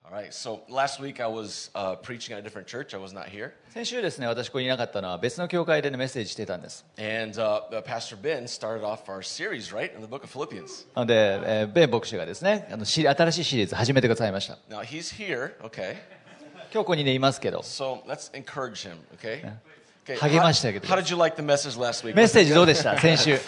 All right, so last week I was preaching at a different church. I was not here. 先週ですね、私ここにいなかったのは別の教会で、ね、メッセージしてたんです。 And Pastor Ben started off our series, right, in the book of Philippians. なので、ベン牧師がですね、新しいシリーズ始めてくださいました。 Now he's here, okay? 今日ここに、ね、いますけど、 So let's encourage him, okay? Okay. 励ましてあげてく How ださい。 did you like the message last week? メッセージどうでした先週。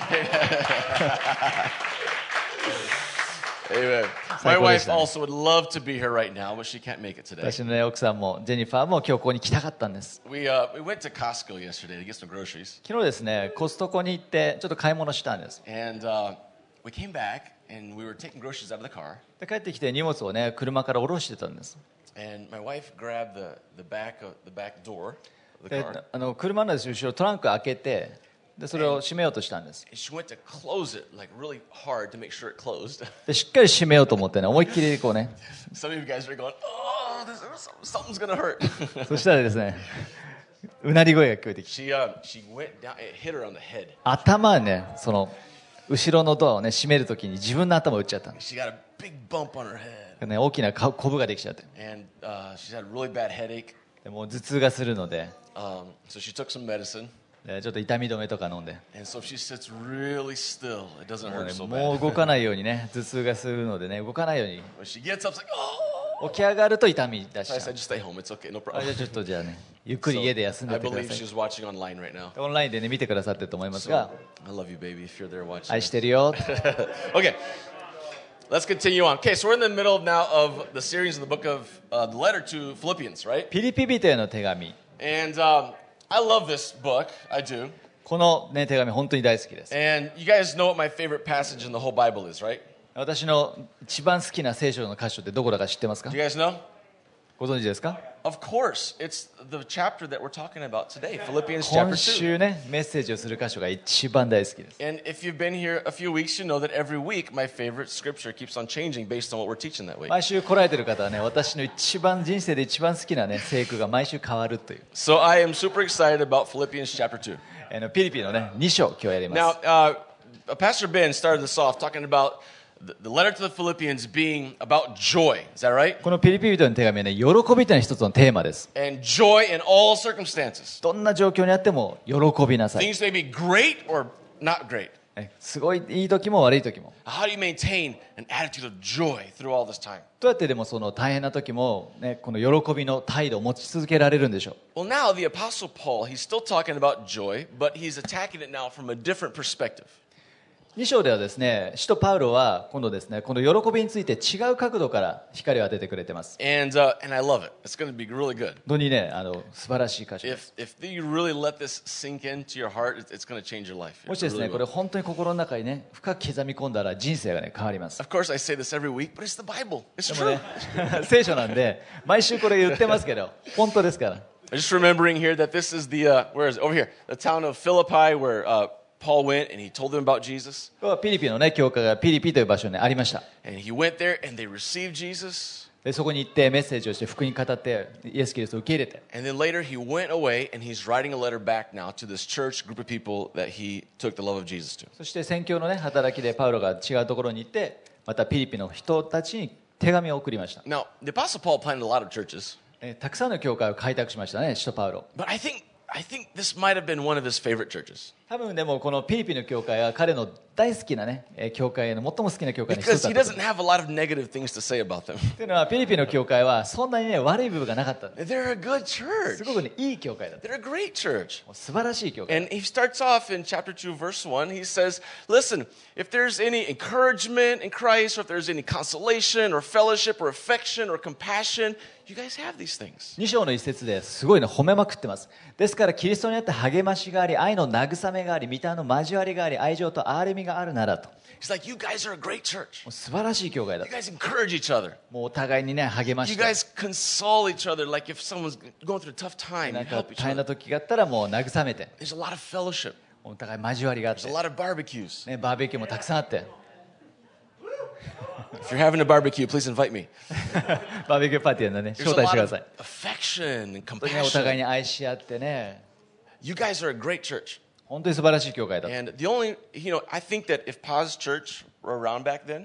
Amen. My wife also would love to be here right now, but she can't make it today. 私の、ね、奥さんもジェニファーも今日ここに来たかったんです。 We went to Costco yesterday to get some groceries. 昨日ですね、コストコに行ってちょっと買い物したんです。 And we came back and we were taking groceries out of the car. で帰ってきて荷物をね、車から下ろしてたんです。 And my wife grabbed the back door of the で car. 車の後ろトランク開けて、でそれを閉めようとしたんです。 And she went to close it like really hard to make sure it closed. でしっかり閉めようと思ってね、思いっきりこうね。 Some of you guys are going, oh, something's gonna hurt. そしたらですね、うなり声が聞こえてきて、 She went down, it hit her on the head. 頭はね、その後ろのドアをね閉めるときに自分の頭を打っちゃったんです。 She got a big bump on her head. ね、大きなコブができちゃって、 And she's had a really bad headache. でもう頭痛がするので、 So she took some medicine. ちょっと痛み止めとか飲んで、 And so if she sits really still, it doesn't もう hurt ね so もう bad. 動かないようにね、頭痛がするのでね、動かないように When she gets up, it's like, oh. 起き上がると痛み出し So I ちゃ said, う。 just stay home. It's okay. No あ、じゃ problem. あちょっとじゃあね、ゆっくり家で休んで I てくだ believe さい。 she's watching online right now. オンラインでね見てくださってると思います So が、 I love you, baby, if you're there watching. 愛してるよ。 Okay, let's continue on. Okay, so we're in the middle now of the series of the book of the letter to Philippians, right? ピリピ人への手紙。 And I love this book. I do. この、ね、手紙本当に大好きです。 And you guys know what my favorite passage in the whole Bible is, right? 私の一番好きな聖書の箇所ってどこだか知ってますか Do？you guys know? ご存知ですか？ Of course, it's the chapter that we're talking about today, Philippians 今 chapter 2. 週ね、メッセージをする箇所が一番大好きです。 And if you've been here a few weeks, you know that every week my favorite scripture keeps on changing based on what we're teaching that week. 毎週来られてる方はね、私の人生で一番好きなね、聖句が毎週変わるという。 So I am super excited about Philippians chapter 2. ピリピのね、2章今日やりま Now, す。 Pastor Ben started this off talking about the letter to the Philippians being about joy. Is that right? このピリピ人の手紙はね、喜びというのは一つのテーマです。 And joy in all circumstances. どんな状況にあっても喜びなさい。 Things may be great or not great. すごいいい時も悪い時も。 How do you maintain an attitude of joy through all this time? どうやってでもその大変な時も、ね、この喜びの態度を持ち続けられるんでしょう。 Well, now the Apostle Paul, he's still talking about joy, but he's attacking it now from a different perspective. 2章ではですね、使徒パウロは今度ですね、この喜びについて違う角度から光を当ててくれてます。 And I love it. It's going to be really good. 本当にね、素晴らしい箇所です。 If you really let this sink into your heart, it's going to change your life. もしですね、 It really これ will. 本当に心の中にね、深く刻み込んだら人生がね、変わります。 Of course, I say this every week, but it's the Bible. It's でも true. ね、聖書なんで、毎週これ言ってますけど、本当ですから。 I'm just remembering here that this is the, where is it? Over here, the town of Philippi where Paul went and he told them about Jesus. ピリピのね、教会がピリピという場所にありました。 And he went there and they received Jesus. でそこに行ってメッセージをして福音語ってイエス・キリストを受け入れて、 And then later he went away and he's writing a letter back now to this church group of people that he took the love of Jesus to. そして宣教のね働きでパウロが違うところに行ってまたピリピの人たちに手紙を送りました。 Now, the Apostle Paul planted a lot of churches, たくさんの教会を開拓しましたね、使徒パウロ。 but I think this might have been one of his favorite churches. 多分でもこのピリピの教会は彼の大好きなね教会の最も好きな教会の一 Because つだ he ったと doesn't have a lot of negative things to say about them. いうのはピリピの教会はそんなにね悪い部分がなかったんで They're a good す。 church. すごくねいい教会だった。 They're a great church. 素晴らしい教会。 And he starts off in chapter 2, verse 1. He says, listen, if there's any encouragement in Christ, or if there's any consolation, or fellowship, or affection, or compassion, you guys have these things. 2章の一節ですごいね褒めまくってます。ですからキリストにあって励ましがあり、愛の慰めがあり、御霊の交わりがあり、愛情と憐れみがあるならと。も He's like, you guys are a great church. う素晴らしい教会だ You と。 guys encourage each other. もうお互いにね励ま You して、 guys console each other. Like if someone's going through a tough time, な you んか help each 大変な other. 時があったらもう慰めて、 There's a lot of fellowship. お互い交わりがあっ There's て a、lot of barbecues. ね、バーベキューもたくさんあって If you're having a barbecue, please invite me. バーベキューパーティーなんでね There's 招 a 待して lot くだ of さい。 affection and 本当にねお互い compassion. に愛し合ってね、 You guys are a great church. 本当に素晴らしい教会だと。 And the only, I think that if Paz Church were around back then,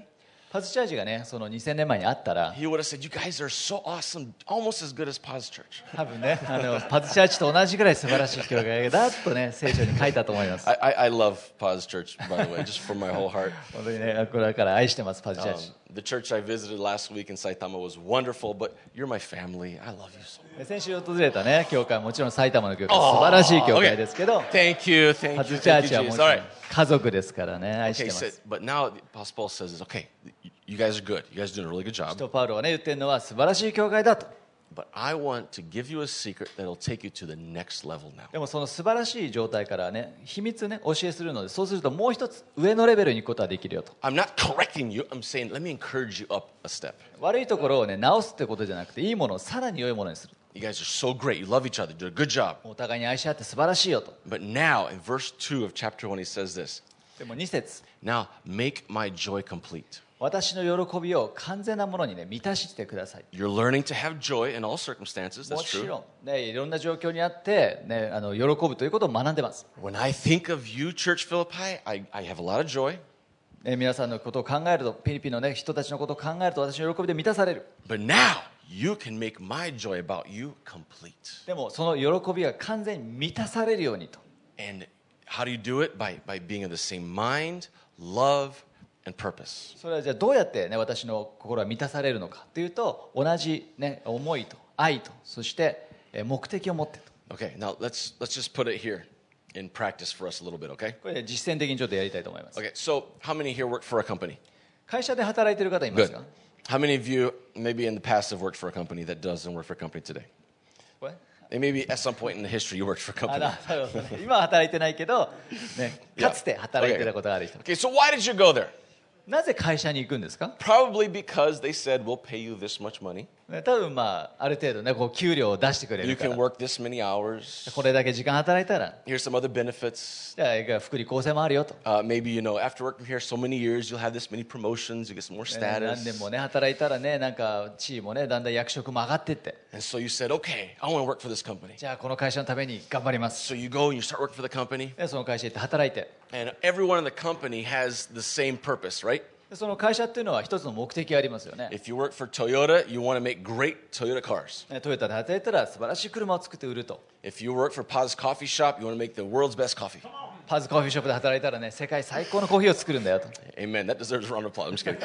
パズチャーチがね、その2000年前にあったら、 he would have said, "You guys are so awesome, almost as good as Paz Church." 多分ね、パズチャーチと同じぐらい素晴らしい教会だとね、聖書に書いたと思います。 I love Paz Church, by the way, just from my whole heart. 本当にね、これだから愛してます、パズチャーチ。 The church I visited last week in Saitama was wonderful, but you're my family. I love you so much. 先週訪れたね、教会、もちろん埼玉の教会、素晴らしい教会ですけど、 Thank you, thank パ you, ズチャ thank ー you, チはも Jesus. ちろ All ん right. 家族ですからね、愛して Okay, ま so, す。 but now the Apostle Paul says, okay, you guys are good. You guys are doing a really good 使 job. 徒パウロがね、言ってるのは素晴らしい教会だと。 But I want to give you a secret that'll take you to the next level now. でもその素晴らしい状態からね、秘密ね、教えするので、そうするともう一つ上のレベルに行くことができるよと。 I'm not correcting you. I'm saying, let me encourage you up a step. 悪いところをね、直すってことじゃなくて、いいものをさらに良いものにする。 You guys are so great. You love each other. You do a good job. お互いに愛し合って素晴らしいよと。 But now, in verse 2 of chapter 1, he says this. でも2節、 Now, make my joy complete. 私の喜びを完全なものにね、満たしてください。 You're learning to have joy in all circumstances. も That's ち true. ろん、ね、いろんな状況にあって、ね、喜ぶということを学んでます。 When I think of you, Church Philippi, I have a lot of joy. 皆さんのことを考えると、フィリピンの、ね、人たちのことを考えると、私の喜びで満たされる。 But now, you can make my joy about you complete. でも、その喜びが完全に満たされるようにと。 And how do you do it? By being of the same mind, love, and purpose. それはじゃあどうやって、ね、私の心は満たされるのかというと、同じ、ね、思いと愛と、そして目的を持ってと。 Okay, now let's just put it here in practice for us a little bit, okay? これで実践的にちょっとやりたいと思います。 Okay, so how many here work for a company? 会社で働いている方います Good. か？ How many of you, maybe in the past, have worked for a company that doesn't work for a company today? これ And maybe at some point in the history, you worked for a あ company. なるほどね今は働いてないけど、ね、かつて働いてたことがある人。 Okay, so why did you go there? なぜ会社に行くんですか？ Probably because they said, we'll pay you this much money. ね、多分まあある程度ねこう給料を出してくれ You るか can ら、 work this many hours. これだけ時間働いたら、 Here's some other benefits. じゃあ福利厚生もあるよと。 Maybe, after working here so many years, you'll have this many promotions, you get some more 何年 status. もね働いたらねなんか地位もねだんだん役職も上がってって、 And so you said, okay, I want to work for this company. じゃあこの会社のために頑張ります。 So you go and you start working for the company. でその会社行って働いて、 And everyone in the company has the same purpose, right? でその会社っていうのは一つの目的がありますよね。 If you work for Toyota, you want to make great Toyota cars. トヨタで働いたら素晴らしい車を作って売ると。 If you work for Paz Coffee Shop, you want to make the world's best coffee. パズコーヒーショップで働いたらね世界最高のコーヒーを作るんだよと。 Amen. That deserves a round of applause. I'm just kidding.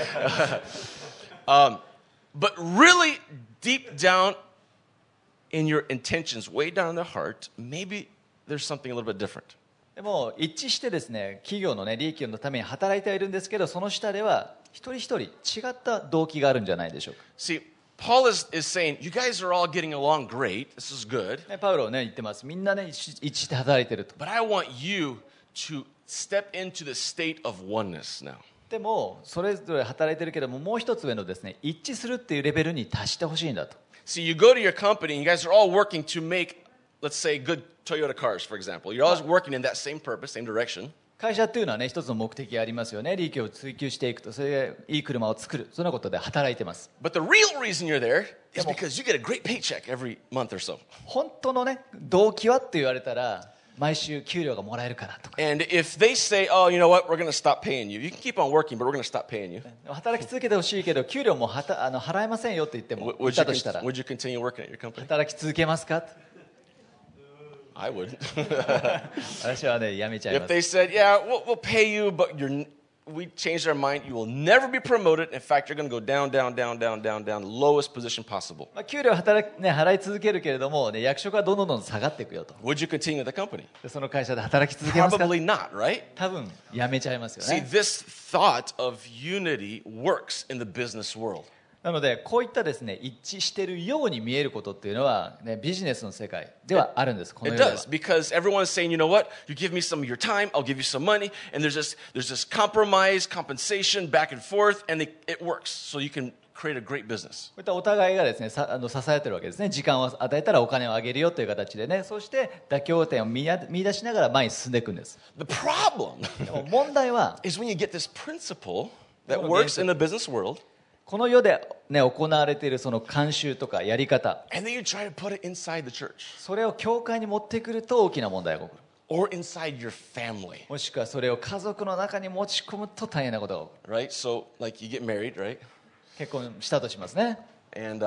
But really, deep down in your intentions, way down in the heart, maybe there's something a little bit different. でも一致してですね企業のね利益のために働いてはいるんですけど、その下では一人一人違った動機があるんじゃないでしょうか。 See, Paul is saying, you guys are all getting along great. This is good. ねパウロはね言ってます。みんなね一致して働いてると。 But I want you to step into the state of oneness now. でもそれぞれ働いてるけども、もう一つ上のですね一致するっていうレベルに達してほしいんだと。 See, you go to your company and you guys are all working to make, let's say, good Toyota cars, for example. You're all working in that same purpose, same direction. 会社っていうのはね一つの目的がありますよね。利益を追求していくと、それでいい車を作る、そんなことで働いてます。 But the real reason you're there is because you get a great paycheck every month or so. 本当のね動機はって言われたら、毎週給料がもらえるからとか、 And if they say, oh, you know what, we're going to stop paying you. You can keep on working, but we're going to stop paying you. 働き続けてほしいけど給料も払えませんよって言っても、言 Would った you, としたら would you continue working at your company? 働き続けますか？ I would. 私はねやめちゃい If ます。 they said, yeah, we'll pay you, but we changed our mind. You will never be promoted. In fact, you're going to go down, down, down, down, down, down, lowest position possible. まあ、給料払い続けるけれども、ね、役職はどんどん下がっていくよと。 Would you continue at the company? でその会社で働き続けますか？ Probably not, right? 多分やめちゃいますよ See, ね。 this thought of unity works in the business world. なのでこういったですね一致しているように見えることっていうのは、ね、ビジネスの世界ではあるんです。この It 世では does, because everyone is saying, you know what? You give me some of your time, I'll give you some money, and there's this compromise, compensation, back and forth, and it works. So you can create a great business. こういったお互いがですね支えてるわけですね。時間を与えたらお金をあげるよという形でね、そして妥協点を見出しながら前に進んでいくんです。 The problem でも問題は is when you get this principle that works in the business world, この世で、ね、行われているその慣習とかやり方、 and then you try to put it inside the church. それを教会に持ってくると大きな問題が起こる。 or inside your family. もしくはそれを家族の中に持ち込むと大変なことが起こる。 Right? So, like, you get married, right? 結婚したとしますね。 And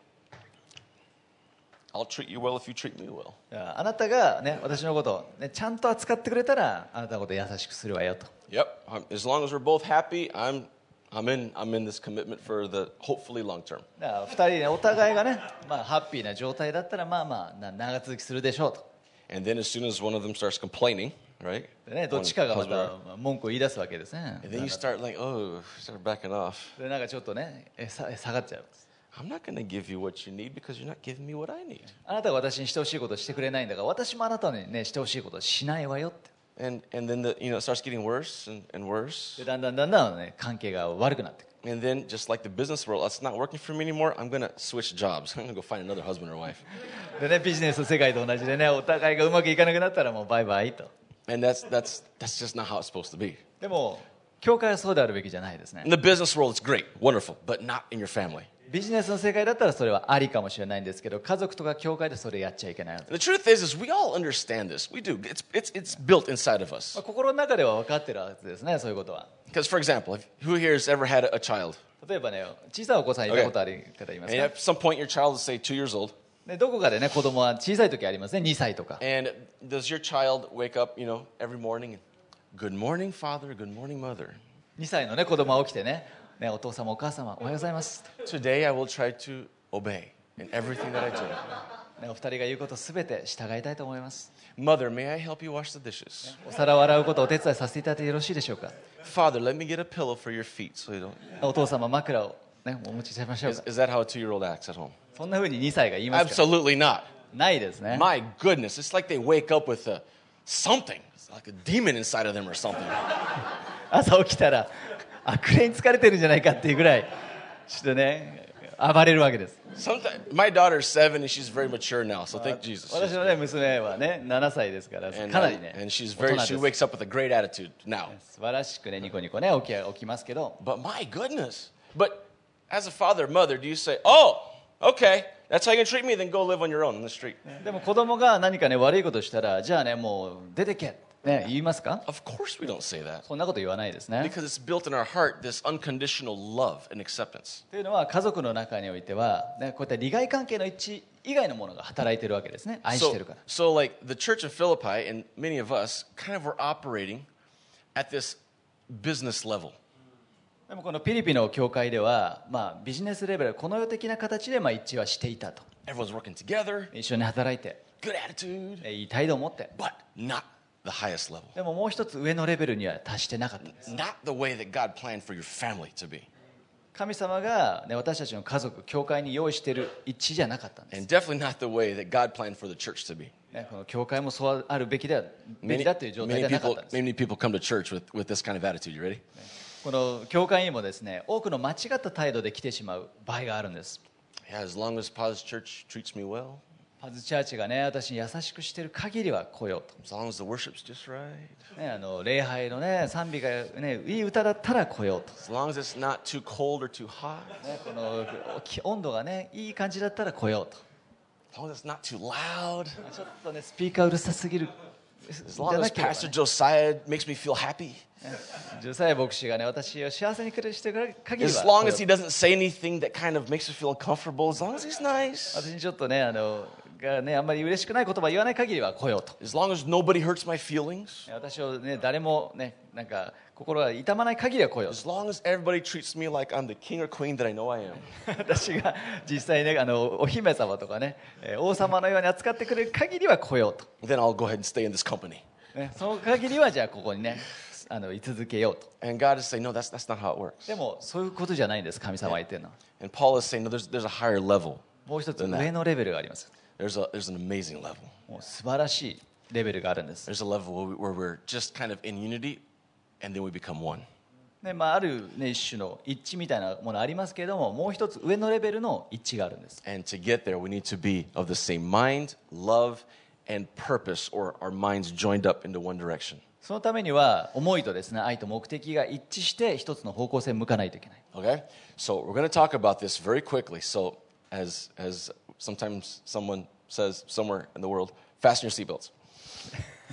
I'll treat you well if you treat me well. あなたが、ね、私のことを、ね、ちゃんと扱ってくれたらあなたのことを優しくするわよと。 Yep. As long as we're both happy, I'm in this commitment for the hopefully long term. だから2人ね、お互いがね、ハッピーな状態だったら長続きするでしょうと。 And then as soon as one of them starts complaining, right? でね、どっちかがま Husband or- た文句を言い出すわけですね。 And then you start like, oh, start backing off. でなんかちょっとね下がっちゃう。 I'm not going to give you what you need because you're not giving me what I need. あなたが私にしてほしいことをしてくれないんだから私もあなたにねしてほしいことをしないわよって。 And then it starts getting worse and worse. でだんだんね関係が悪くなってくる。 And then just like the business world, it's not working for me anymore. I'm going to switch jobs. I'm going to go find another husband or wife. でねビジネスの世界と同じでねお互いがうまくいかなくなったらもうバイバイと。 And that's just not how it's supposed to be. でも教会はそうであるべきじゃないですね。 In the business world, it's great, wonderful, but not in your family. ビジネスの世界だったらそれはありかもしれないんですけど家族とか教会でそれやっちゃいけない。 And the truth is we all understand this. We do. It's built inside of us. 心の中では分かってるはずですねそういうことは。 Because, for example, who here has ever had a child? 例えばね小さいお子さんいたことある方います And か、 at some point, your child is, say, 2 years old. でどこかでね子供は小さい時ありますね2歳とか。 And does your child wake up, every morning and, good morning, father, good morning, mother. 2歳のね子供が起きてねお父様お母様おはようございます、 Today, I will try to obey in everything that I do. ね、お二人が言うことすべて従いたいと思います。 Mother, may I help you wash the dishes? お皿を洗うことをお手伝いさせていただいてよろしいでしょうか。 Father, let me get a pillow for your feet so you don't. お父様枕を、ね、お持ちしましょう Is, か。 is that how a 2-year-old acts at home? そんな風に2歳が言いますか。 Absolutely not. ないですね。 My goodness, it's like they wake up with something. It's like a demon inside of them or something. 朝起きたら悪霊に疲れてるんじゃないかっていうぐらいちょっとね暴れるわけです。 Sometimes my daughter's 7 and she's very mature now, so thank Jesus. 私のね娘はね7歳ですから And, かなりね and she's 大 very 人 she です wakes up with a great attitude now. 素晴らしくねニコニコね起きますけど、 But my goodness. But as a father or mother, do you say, "Oh, okay, that's how you're gonna treat me, then go live on your own in the street"? でも子供が何かね悪いことしたらじゃあねもう出てけね言いますか。 Of course we don't say that. そんなこと言わないですね。 Because it's built in our heart this unconditional love and acceptance. というのは家族の中においては、ね、こういった利害関係の一致以外のものが働いているわけですね。愛してるから。 So like the church of Philippi and many of us kind of were operating at this business level. でもこのピリピの教会では、ビジネスレベルこの世的な形で一致はしていたと。 Everyone's working together, 一緒に働いて good attitude, いい態度を持って、 but not the highest level. でももう一つ上のレベルには達してなかったんです。 Not the way that God planned for your family to be. 神様が、ね、私たちの家族教会に用意している一致じゃなかったんです、 And definitely not the way that God planned for the church to be. ね、この教会もそうあるべきだという状態ではなかったんです。 Many people come to church with this kind of attitude. You ready? この教会にもですね多くの間違った態度で来てしまう場合があるんです。 Yeah, as long as Paz Church treats me well, パズチャーチがね私に優しくしている限りは来ようと、 as long as the worship's just right, ね、礼拝のね賛美がねいい歌だったら来ようと、 as long as it's not too cold or too hot, ね、この温度がねいい感じだったら来ようと、 as long as it's not too loud, ちょっとねスピーカーうるさすぎる as long as Pastor Josiah makes me feel happy, ジョサヤ牧師がね私を幸せにしてくれる限り as は long as he doesn't say anything that kind of makes me feel uncomfortable, as long as he's nice, 私にちょっとねがねあんまり嬉しくない言葉言わない限りは来ようと、 as long as nobody hurts my feelings, 私をね誰もねなんか心が痛まない限りは来ようと as long as everybody treats me like I'm the king or queen that I know I am, 私が実際ねお姫様とかね王様のように扱ってくれる限りは来ようと、 then I'll go ahead and stay in this company. ね、その限りはじゃあここにね居続けようと。 And God is saying, no, that's not how it works. でもそういうことじゃないんです神様は言ってるのは。 And Paul is saying, no, there's a higher level. もう一つ上のレベルがあります。 There's an amazing level. もう素晴らしいレベルがあるんです。 There's a level where we're just kind of in unity, and then we become one. ねある、ね、一種の一致みたいなものありますけれども、もう一つ上のレベルの一致があるんです。 And to get there, we need to be of the same mind, love, and purpose, or our minds joined up into one direction. そのためには思いとですね愛と目的が一致して一つの方向性を向かないといけない。 Okay? So we're going to talk about this very quickly. So as sometimes someone says somewhere in the world, fasten your seatbelts.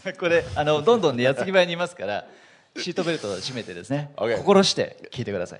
これどんどんね矢継ぎ早に言いますからシートベルトを締めてですね、 Okay. 心して聞いてください。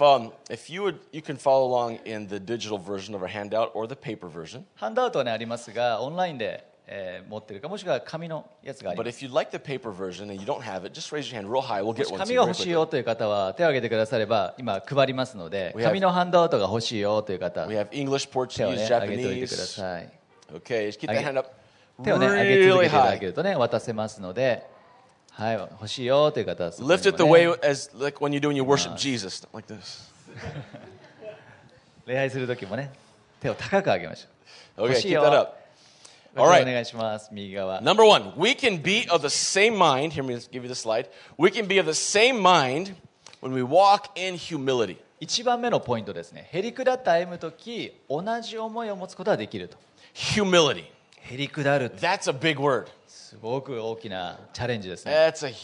If you can follow along in the digital version of our handout or the paper version. ハンドアウトはねありますが、オンラインで、持ってるかもしくは紙のやつがあり But ます。 if you'd like the paper version and you don't have it, just raise your hand real high. We'll も get し one to 紙 you が very 欲しい quickly. よという方は手を挙げてくだされば今配りますので、 We have- 紙のハンドアウトが欲しいよという方 We have English, 手を Portuguese, ね挙げておいてくだ Japanese. さい。 Okay, just keep that Okay. hand up 手をね上げ続 really けていただけ high. るとね渡せますので、はい、欲しいよという方はそこにも Lift ね it the way as like when you do when you worship Jesus, not like this. 礼拝する時もね手を高く上げましょう。 Okay, 欲しい keep よ。 that up. お All right. 願いします。右側。 Number one, we can be of the same mind. Here, let me give you the slide. We can be of the same mind when we walk in humility. 1番目のポイントですね。へりくだって歩むとき同じ思いを持つことができると。 Humility. へりくだるって That's a big word. すごく大きなチャレンジですね。 That's a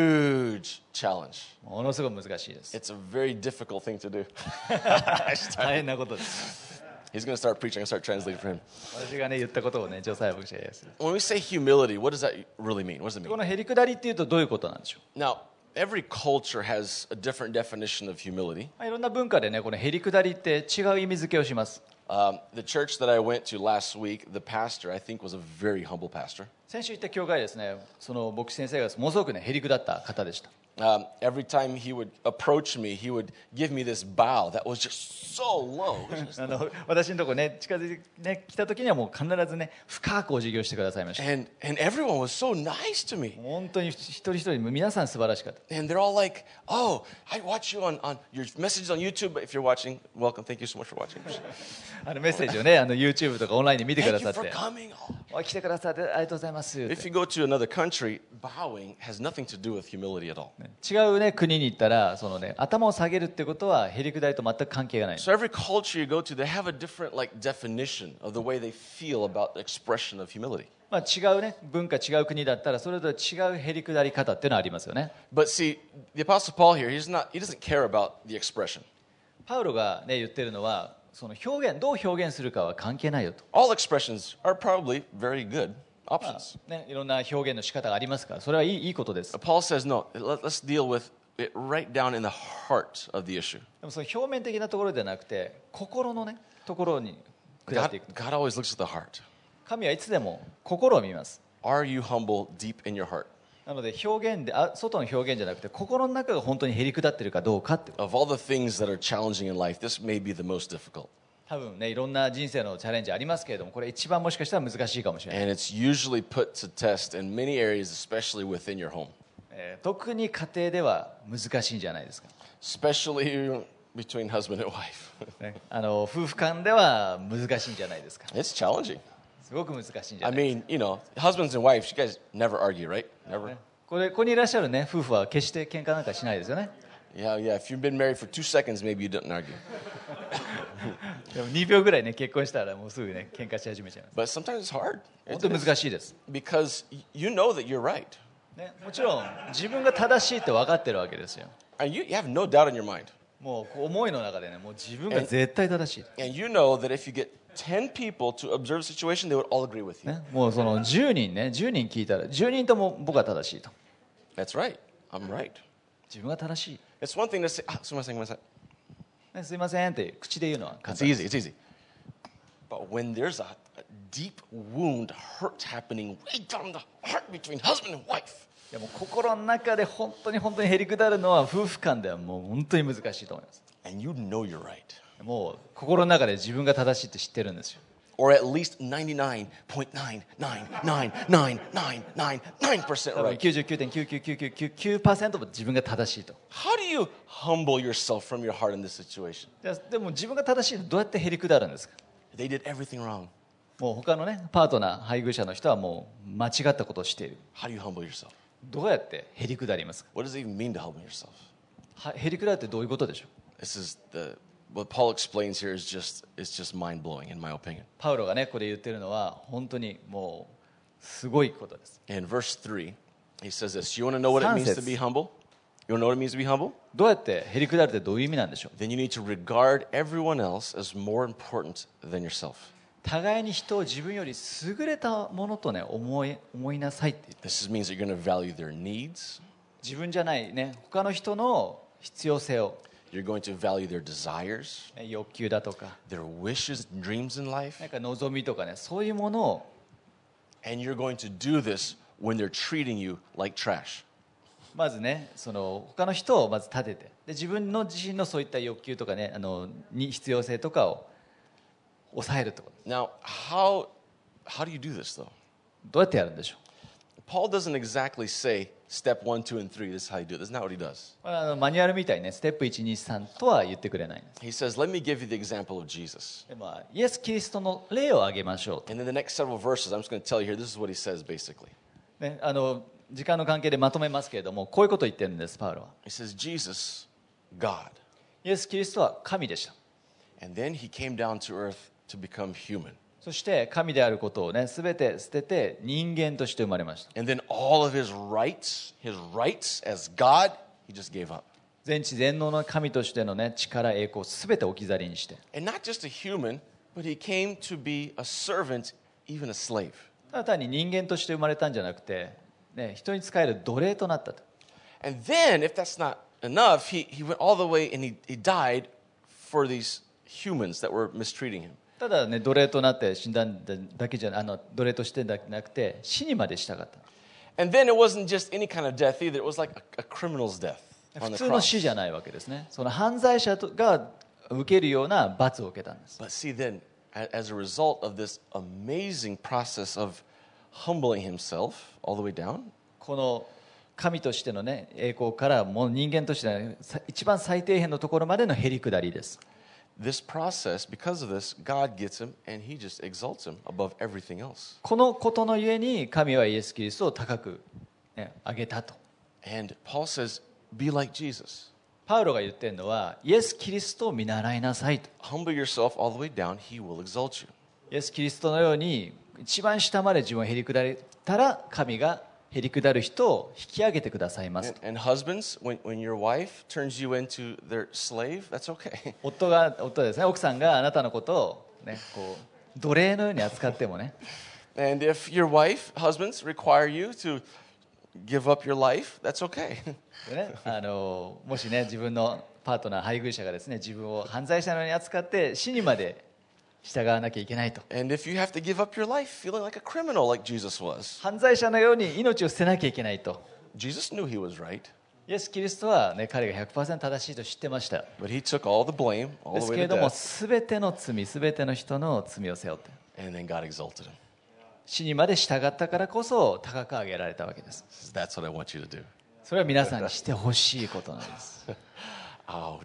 huge challenge. ものすごく難しいです。 It's a very difficult thing to do. 大変なことです。 He's going to start preaching. I'm going to start translating for him. 私がね言ったことをねジョサヤ牧師が言います。 When we say humility, what does that really mean? What does it こ mean? のへりくだりっていうとどういうことなんでしょう。 Now, every culture has a different definition of humility. いろんな文化でねこのへりくだりって違う意味付けをします。 The church that I went to last week, the pastor, I think, was a very humble pastor. 先週行った教会ですね、その牧師先生がものすごくねへりくだった方でした。 Every time he would approach me, he would give me this bow that was just so low. 私のところね近づいて、ね、来た時にはもう必ずね深くお辞儀をしてくださいました。 And everyone was so nice to me. 本当に一人一人皆さん素晴らしかった。 And they're all like, oh, I watch you on your messages on YouTube. But if you're watching, welcome. Thank you so much for watching. メッセージをねYouTube とかオンラインで見てくだ Thank さ you っ for て、 coming. お来てくださってありがとうございますって。 If you go to another country, bowing has nothing to do with humility at all. 違うね国に行ったらそのね頭を下げるってことはへりくだりと全く関係がない。 So every culture you go to, they have a different like definition of the way they feel about the expression of humility. まあ違うね文化違う国だったらそれぞれ違うへりくだり方っていうのはありますよね。 But see, the Apostle Paul here, he doesn't care about the expression. パウロがね言ってるのはその表現どう表現するかは関係ないよと。 All expressions are probably very good options. ねいろんな表現の仕方がありますからそれはいいことです。 But Paul says, no, let's deal with it right down in the heart of the issue. でもその表面的なところではなくて心のねところに下っていく。 God always looks at the heart. 神はいつでも心を見ます。 Are you humble deep in your heart? なので表現で外の表現じゃなくて心の中が本当にへりくだってるかどうかって。 Of all the things that are challenging in life, this may be the most difficult. 多分ねいろんな人生のチャレンジありますけれどもこれ一番もしかしたら難しいかもしれない。 And it's usually put to test in many areas, especially within your home, 特に家庭では難しいんじゃないですか。 especially between husband and wife. ね夫婦間では難しいんじゃないですか。 It's challenging. すごく難しいんじゃ I ない。 mean, husbands and wives, you guys never argue, right? Never. ここにいらっしゃるね夫婦は決して喧嘩なんかしないですよね。 Yeah. If you've been married for 2 seconds, maybe you didn't argue. でも2秒ぐらいね結婚したらもうすぐね喧嘩し始めちゃいます。 But sometimes it's hard. 本当に難しいです。 Because you know that you're right. ね、もちろん自分が正しいって分かってるわけですよ。 And you have no doubt in your mind. もうこう思いの中でねもう自分が絶対正しい、 And you know that if you get 10 people to observe a situation, they would all agree with you. ね、もうその10人聞いたら10人とも僕は正しいと。 That's right. I'm right. 自分が正しい、 It's one thing to say, すみません。 ね、すいませんって口で言うのは簡 It's 単。 easy. It's easy. But when there's a deep wound, hurt happening way down the heart between husband and wife, でも心の中で本当にへりくだるのは夫婦間ではもう本当に難しいと思います。 and you know you're right, もう心の中で自分が正しいって知ってるんですよ。 or at least 99.9999999% 多分 right. 99.99999% も自分が正しいと。 How do you humble yourself from your heart in this situation? でも自分が正しいとどうやってへりくだるんですか。 They did everything wrong. もう他のねパートナー配偶者の人はもう間違ったことをしている。 How do you humble yourself? どうやってへりくだりますか。 What does it even mean to humble yourself? へりくだるってどういうことでしょう。 This is what Paul explains here is just mind blowing in my opinion. パウロがねこれ言ってるのは本当にもうすごいことです。 In verse 3, he says this. You want to know what it means to be humble? You want to know what it means to be humble? どうやってへりくだるってどういう意味なんでしょう。 Then you need to regard everyone else as more important than yourself. 互いに人を自分より優れたものとね思いなさいって言って、 This means that you're going to value their needs. 自分じゃないね他の人の必要性を、 You're going to value their desires, ね欲求だとか their wishes, dreams in life. なんか望みとかね、そういうものを And you're going to do this when they're treating you like trash. まずねその他の人をまず立てて、で自分の自身のそういった欲求とかねに必要性とかを抑えるってこと。 Now, how do you do this, though? どうやってやるんでしょ Paul doesn't exactly say step 1, 2, and 3. This is how you do it. That's not what he does. う。マニュアルみたいにねステップ123とは言ってくれないんです。 He says, let me give you the example of Jesus. でイエス・キリストの例を挙げましょうと、 And in the next several verses, I'm just going to tell you here, this is what he says basically. ね、時間の関係でまとめますけれども、こういうことを言ってるんです、パウロは。 He says, Jesus, God. イエス・キリストは神でした。 And then he came down to earth to become human. そして神であることをね全て捨てて人間として生まれました。 And then all of his rights as God, he just gave up. 全知全能の神としてのね力栄光を全て置き去りにして、 And not just a human, but he came to be a servant, even a slave. ただ単に人間として生まれたんじゃなくて、ね、人に仕える奴隷となったと。 And then, if that's not enough, he went all the way and he died for these humans that were mistreating him. ただね奴隷となって死んだだけじゃ奴隷としてだけなくて死にまでしたかった。 And then it wasn't just any kind of death either. It was like a criminal's death 普 on the 通の cross. 死じゃないわけですね。その犯罪者が受けるような罰を受けたんです。 But see, then, as a result of this amazing process of humbling himself all the way down, この神としてのね栄光からもう人間としてのね一番最底辺のところまでのへり下りです。 this process, because of this, God gets him and he just exalts him above everything else. このことのゆえに神はイエス・キリストを高く、ね、上げたと。 And Paul says, be like Jesus. パウロが言ってるのはイエス・キリストを見習いなさいと。 Humble yourself all the way down, he will exalt you. イエス・キリストのように一番下まで自分をへり下れたら神がへり下る人を引き上げてくださいますと。 And husbands, when your wife turns you into their slave, that's okay. 夫ですね、奥さんがあなたのことを、ね、こう奴隷のように扱ってもね、 And if your wife, husbands, require you to give up your life, that's okay. でねもしね自分のパートナー配偶者がですね自分を犯罪者のように扱って死にまで従わなきゃいけないと。 And if you have to give up your life feeling like a criminal like Jesus was, 犯罪者のように命を捨てなきゃいけないと。 Jesus knew he was right, イエス・キリストは、ね、彼が 100% 正しいと知ってました。 but he took all the blame で all す the け way れ to ども death, 全ての罪全ての人の罪を背負って and then God exalted him. 死にまで従ったからこそ高く上げられたわけです。 That's what I want you to do. それは皆さんにしてほしいことなんです。 Ouch.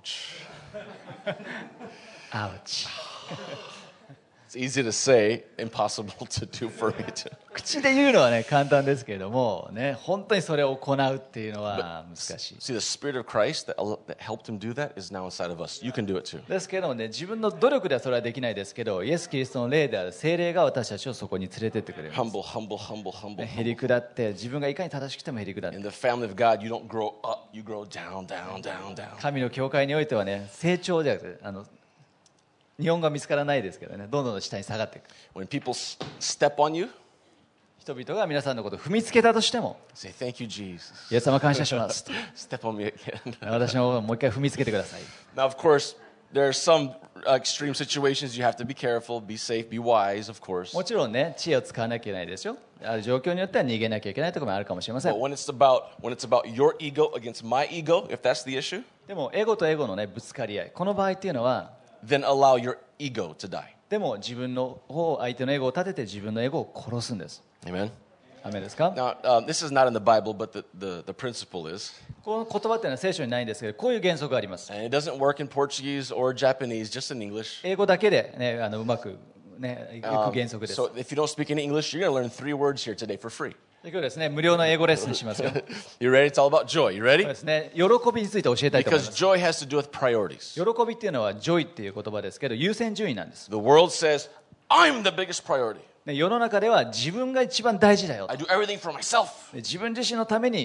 アウチ。 It's easy to say, impossible to do for me to. 口で言うのはね簡単ですけれどもね、本当にそれを行うっていうのは難しい。 See, the Spirit of Christ that helped him do that is now inside of us. You can do it too. ですけれどもね、自分の努力ではそれはできないですけど、イエス・キリストの霊である聖霊が私たちをそこに連れてってくれる。 Humble, humble, humble, humble. へり下って自分がいかに正しくてもへり下って In the family of God, you don't grow up, you grow down, down, down, down. 神の教会においてはね成長じゃなくて日本語は見つからないですけどね、どんどん下に下がっていく。 When people step on you, 人々が皆さんのことを踏みつけたとしても、 say, thank you, Jesus. イエス様感謝しますと。 Step on me again. 私のもう一回踏みつけてください。 Now, of course, there are some extreme situations you have to be careful, be safe, be wise, of course. もちろんね知恵を使わなきゃいけないですよ。ある状況によっては逃げなきゃいけないところもあるかもしれません But。when it's about your ego against my ego, if that's the issue, でもエゴとエゴのねぶつかり合い、この場合っていうのは then allow your ego to die. でも自分の方相手のエゴを立てて自分のエゴを殺すんです。 Amen. アメですか？ Now, this is not in the Bible, but the principle is. この言葉っていうのは聖書にないんですけど、こういう原則があります。 And it doesn't work in Portuguese or Japanese, just in English. 英語だけでねうまくねいく原則です。 So if you don't speak any English, you're going to learn 3 words here today for free. 今日ですね無料の英語レッスンしますよ。そう You ready? It's all about joy. You ready? ですね、喜びについて教えたいと思い Because ます。 joy has to do with priorities. 喜びっていうのはジョイっていう言葉ですけど優先順位なんです。 The world says, I'm the biggest priority. ね世の中では自分が一番大事だよ。 I do everything for myself. で自分自身のために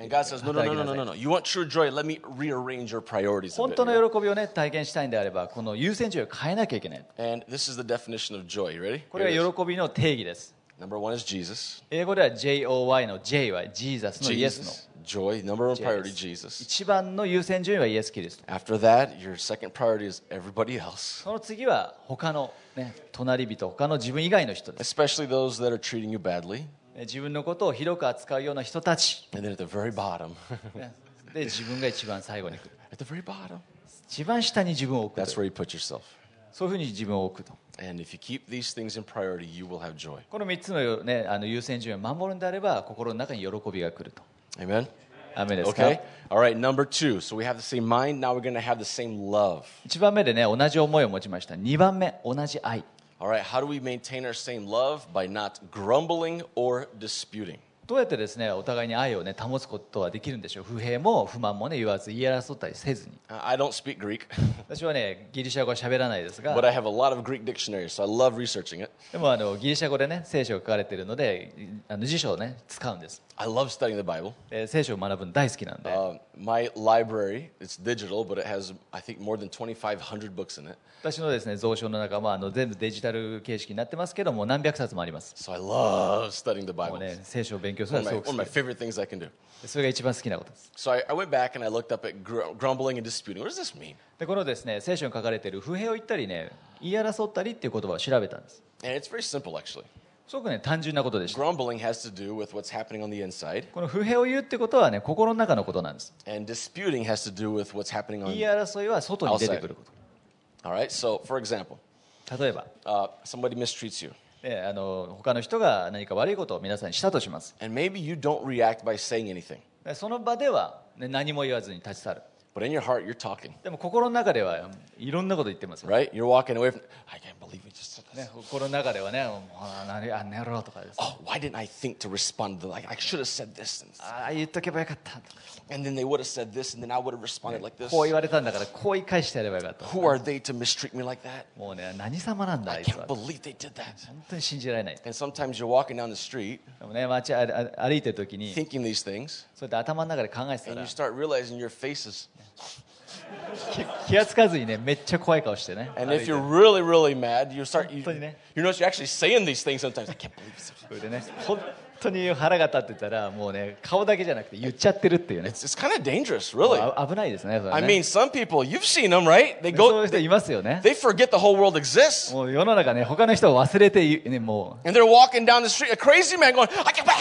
And God says, no, no, no, no, no, no, no. You want true joy? Let me rearrange your priorities a 本 bit. 当 here. の喜びをね体験したいんであればこの優先順位を変えなきゃいけない。 And this is the definition of joy. You ready? これ Here が it is. 喜びの定義です。 Number one is Jesus. 英語では JOY の J は Jesus のイエスの Jesus. Joy. Number one priority, Yes. Jesus. 一番の優先順位はイエス・キリスト。 After that, your second priority is everybody else, その次は他の、ね、隣人他の自分以外の人です。 especially those that are treating you badly. 自分のことをひどく扱うような人たち、 And then at the very bottom, ねで自分が一番最後に来る。 at the very bottom, 一番下に自分を置く that's という where you put yourself. そういうふうに自分を置くと。 And if you keep these things in priority, you will have joy. この3つの、ね、優先順位を守るんであれば心の中に喜びが来ると。 Amen? アメですか。 Okay? All right, number two. So we have the same mind. Now we're going to have the same love. 1番目でね同じ思いを持ちました。2番目同じ愛。 All right, how do we maintain our same love? By not grumbling or disputing. どうやってですねお互いに愛をね保つことはできるんでしょう。不平も不満もね言わず言い争ったりせずに。 I don't speak Greek, 私はねギリシャ語は喋らないですが but I have a lot of Greek dictionaries, so I love researching it. でもギリシャ語でね聖書が書かれているので辞書をね使うんです。 I love studying the Bible. で聖書を学ぶの大好きなんで My library, it's digital, but it has, I think, more than 2,500 books in it. 私のですね蔵書の中は全部デジタル形式になってますけども何百冊もあります。 So I love studying the も Bible. うね聖書を勉強する One の of は my, すご one く of 好 my favorite things I can do. き。それが一番好きなことです。 So I went back and I looked up at grumbling and disputing. What does this mean? でこのですね聖書に書かれている不平を言ったりね言い争ったりっていう言葉を調べたんです。 And it's very simple, actually. すごくね単純なことでした。 Grumbling has to do with what's happening on the inside, この不平を言うってことはね心の中のことなんです。 and disputing has to do with what's happening 言い on. 争いは外に出てくるこ All right. So, for example, と。例えば somebody mistreats you, 他の人が何か悪いことを皆さんにしたとします。 and maybe you don't react by saying anything, でその場では、ね、何も言わずに立ち去る。 but in your heart you're talking, でも心の中ではいろんなこと言ってますよ、 right? You're walking away from. I can't believe we just said this. ね、心の中ではねもうあ寝ろとかです、 Oh, why didn't I think to respond to like I should have said this, ああ言っとけばよかったとか and then they would have said this, and then I would have responded like this. こう言われたんだからこう言い返してやればよかった。 Who are they to mistreat me like that? もうね何様なんだあ I いつ can't は。 believe they did that. 本当に信じられない。 And sometimes you're walking down the street でもね歩いてる時に thinking these things, そうやって頭の中で考えてた and ら you start realizing your face is. 気がつかずにねめっちゃ怖い顔してね。 And 歩い if て you're really, really mad, you start. You 本当にね。 notice you're actually saying these things sometimes. I can't believe this. それでね本当に腹が立ってたらもうね顔だけじゃなくて言っちゃってるっていうね。 It's kind of dangerous, really. 危ないですね。それね I mean, some people you've seen them, right? They そうい go, う人いますよね。 they forget the whole world exists, もう世の中ね他の人を忘れて、ね、も and they're walking down the street, a crazy man going,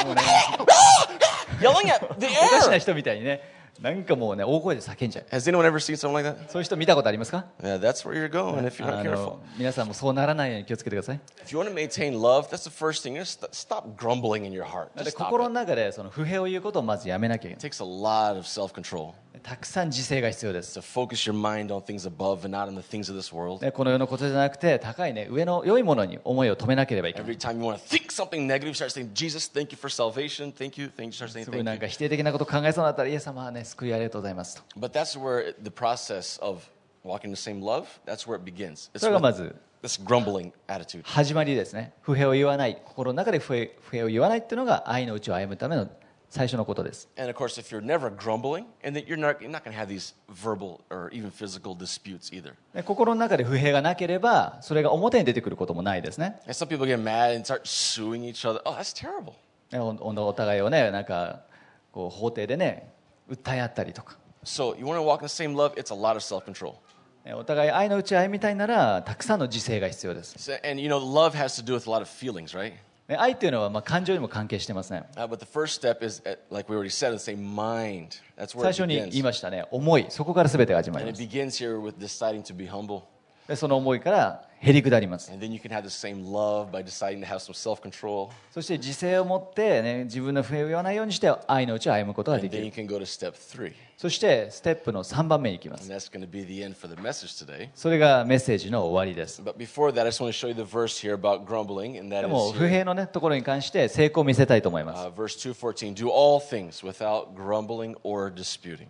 yelling at the うおかしな air. 人みたいにねなんかもうね大声で叫んじゃう。 Has anyone ever seen something like that? そういう人見たことありますか。 Yeah, that's where you're going if you're not careful. 皆さんもそうならないように気をつけてください。 If you want to maintain love, that's the first thing. Just stop grumbling in your heart. だって Just stop 心の it. 中でその不平を言うことをまずやめなきゃいけ It takes a lot of self-control ない。たくさん自制が必要です。 to focus your mind on things above and not on the things of this world. ねこの世のことじゃなくて高いね上の良いものに思いを止めなければいけない。 Every time you want to think something negative, you start saying, Jesus, thank you for salvation. Thank you. Thank you. Start saying すごいなん thank か you. 否定的なこと考えそうになったらイエス様はね救いありがとうございますと。 But that's where the process of walking in the same love, that's where it begins. It's それがま with ず this grumbling attitude. 始まりですね。不平を言わない心の中で不平を言わないっていうのが愛のうちを歩むための最初のことです。 And of course, if you're never grumbling, and then you're not going to have these verbal or even physical disputes either. で心の中で不平がなければそれが表に出てくることもないですね。 And some people get mad and start suing each other. Oh, that's terrible. ねお互いをねなんかこう法廷でね訴え合ったりとか。 So you want to walk in the same love, it's a lot of self-control. お互い愛のうちを歩みたいならたくさんの自制が必要です。 So, and love has to do with a lot of feelings, right? ね愛っていうのはまあ感情にも関係してますね。 But the first step is, like we already said, it's a mind. That's where 最 it 初に言い begins. ましたね思いそこから全てが始まり And ま it す。 begins here with deciding to be humble. でその思いからへり下ります。 And then you can have the same love by deciding to have some self-control. そして自制を持って、ね、自分の不平を言わないようにして愛のうちを歩むことが And でき then you る。 can go to step 3. そしてステップの3番目に行きま And す。 that's going to be the end for the message today. それがメッセージの終わりです。 But before that, I just want to show you the verse here about grumbling. And that でも is 不 here, 平の、ね、ところに関して成功を見せたいと思います。 verse 2:14. Do all things without grumbling or disputing.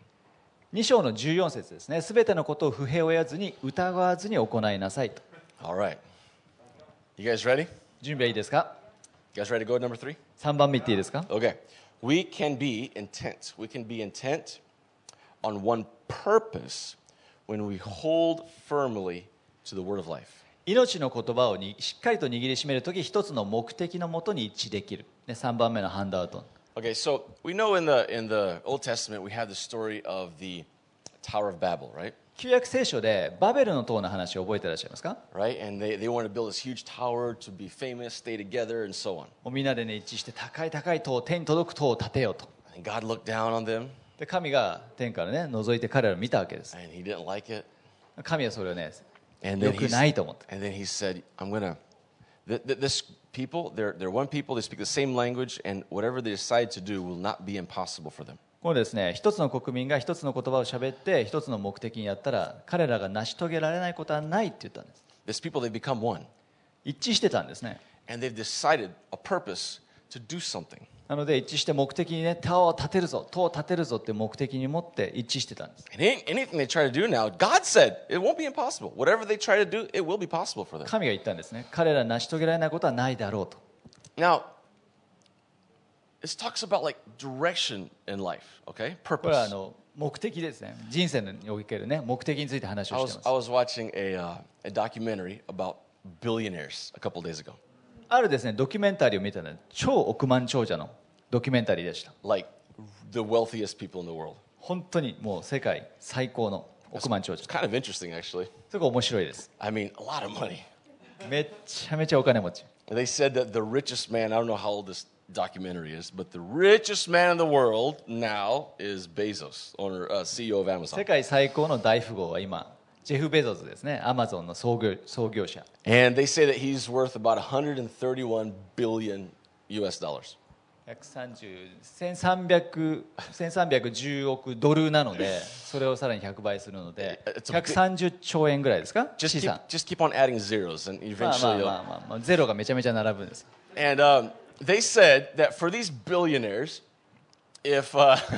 2章の14節ですね。すべてのことを不平を得ずに疑わずに行いなさいと。 All right. You guys ready? 準備はいいですか。 You guys ready to go to number 3? 3番目言っていいですか。 Okay. We can be intent. We can be intent on one purpose when we hold firmly to the word of life. 命の言葉をしっかりと握りしめるとき、一つの目的のもとに一致できる。3番目のハンドアウト。 Okay, so we know in the Old Testament we have the story of the Tower of Babel, right? 旧約聖書でバベルの塔の話を覚えていらっしゃいますか？ Right, and they wanted to build this huge tower to be famous, stay together, and so on. もうみんなで、一致して高い高い塔、天に届く塔を建てようと。 And God looked down on them, で神が天から覗いて彼らを見たわけです。 and He didn't like it. 神はそれを And 良 then くないと思って。 and then He said, "I'm gonna." This people, they're one people. They speak the same language, and whatever they decide to do will not be impossible for them. このですね、一つの国民が一つの言葉を喋って一つの目的にやったら彼らが成し遂げられないことはないって言ったんです。 These people, they become one, 一致してたんですね。 and they've decided a purpose to do something. なので一致して目的に塔を建てるぞって目的に持って一致してたんです。 And anything they try to do now, God said it won't be impossible. Whatever they try to do, it will be possible for them. 神が言ったんですね。彼ら成し遂げられないことはないだろうと。 Now, this talks about like direction in life, okay? これは Purpose. 目的ですね。人生における目的について話を I してい was ます。 I was watching a documentary about billionaires a couple days ago. あるですねドキュメンタリーを見たのは超億万長者のドキュメンタリーでした。 Like the wealthiest people in the world. 本当にもう世界最高の億万長者。 It's kind of interesting, actually. それが面白いです。 I mean, a lot of money. めちゃめちゃお金持ち。 They said that the richest man, I don't know how old this documentary is, but the richest man in the world now is Bezos, owner, CEO of 世 Amazon. 界最高の大富豪は今ジェフ・ベゾスですね。アマゾンの創業者。 And they say that he's worth about 131 billion US dollars. 1310億ドルなので、それをさらに100倍するので、 It's a big- 130兆円ぐらいですか？ 資 Just 産。 keep on adding zeros, and まあ eventually, まあゼロがめちゃめちゃ並ぶんです。 and they said that for these billionaires, if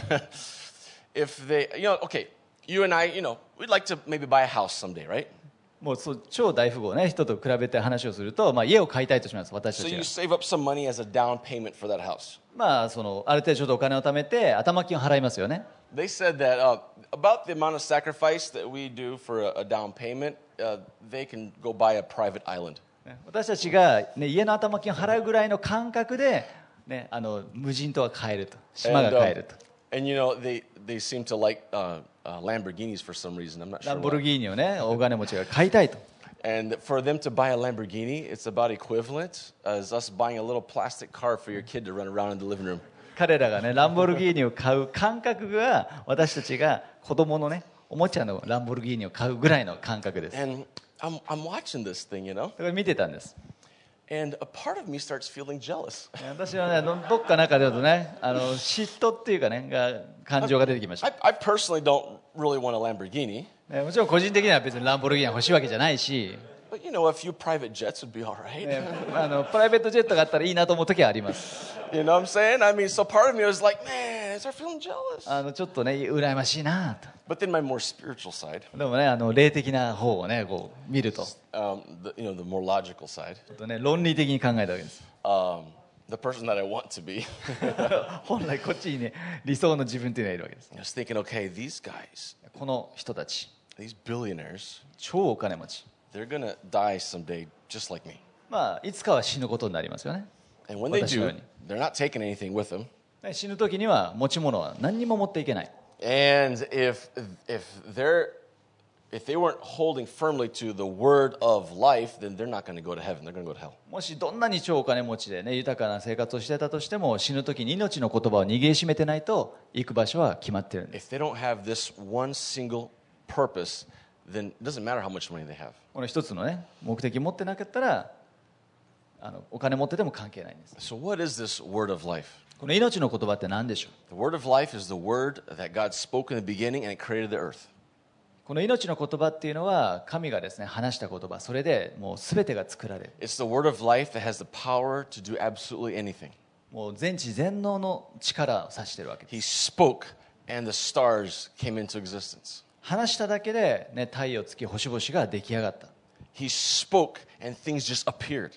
if they, okay, you and I, we'd like to maybe buy a house someday, right? もう超大富豪ね人と比べて話をすると、家を買いたいとします。私た So ち you が。 save up some money as a down payment for that house. ある程度ちょっとお金を貯めて頭金を払いますよね。 They said that about the amount of sacrifice that we do for a down payment, they can go buy a private island. 私たちが、家の頭金を払うぐらいの感覚で、無人島が買えると、島が買えると。 And they seem to like Lamborghinis for some reason. I'm not ラ sure ンボル why. ギーニを大金持ちが買いたいと。 And for them to buy a Lamborghini, it's about equivalent as us buying a little plastic car for your kid to run around in the living room. 彼らがランボルギーニを買う感覚が私たちが子供のおもちゃのランボルギーニを買うぐらいの感覚です。 And I'm watching this thing, だから見てたんです。 and a part of me starts feeling jealous. 私はどっか中で嫉妬っていうか感情が出てきました。 I personally don't really want a Lamborghini, もちろん個人的には別にランボルギーニが欲しいわけじゃないし、 but a few private jets would be all right. プライベートジェットがあったらいいなと思う時はあります。 You know what I'm saying? I mean, so part of me was like, man, I start feeling jealous. ちょっと羨ましいなと。 But then my more spiritual side, でも霊的な方をこう見ると、 the more logical side, ちょっと論理的に考えたわけです。 the person that I want to be, 本来こっちに理想の自分というのがいるわけです。 I was thinking, okay, these guys, この人たち these billionaires, 超お金持ち、 they're going to die someday just like me. いつかは死ぬことになりますよね。 And when they 私のよ do, うに。 they're not taking anything with them. 死ぬ時には持ち物は何にも持っていけない。 And if they weren't holding firmly to the word of life, then they're not going to go to heaven. They're going to go to hell. もしどんなに超お金持ちで豊かな生活をしてたとしても、死ぬ時に命の言葉を握りしめてないと行く場所は決まってるんです。 If they don't have this one single purpose, then it doesn't matter how much money they have. この一つの目的を持ってなかったらお金持ってても関係ないんです。 So what is this word of life? この命の言葉って何でしょう？ The word of life is the word that God spoke in the beginning and it created the earth. この命の言葉っていうのは神がですね話した言葉、それでもう全てが作られる。 It's the word of life that has the power to do absolutely anything. もう全知全能の力を指しているわけです。 He spoke and the stars came into existence. 話しただけで、太陽、月、星々が出来上がった。 He spoke and things just appeared.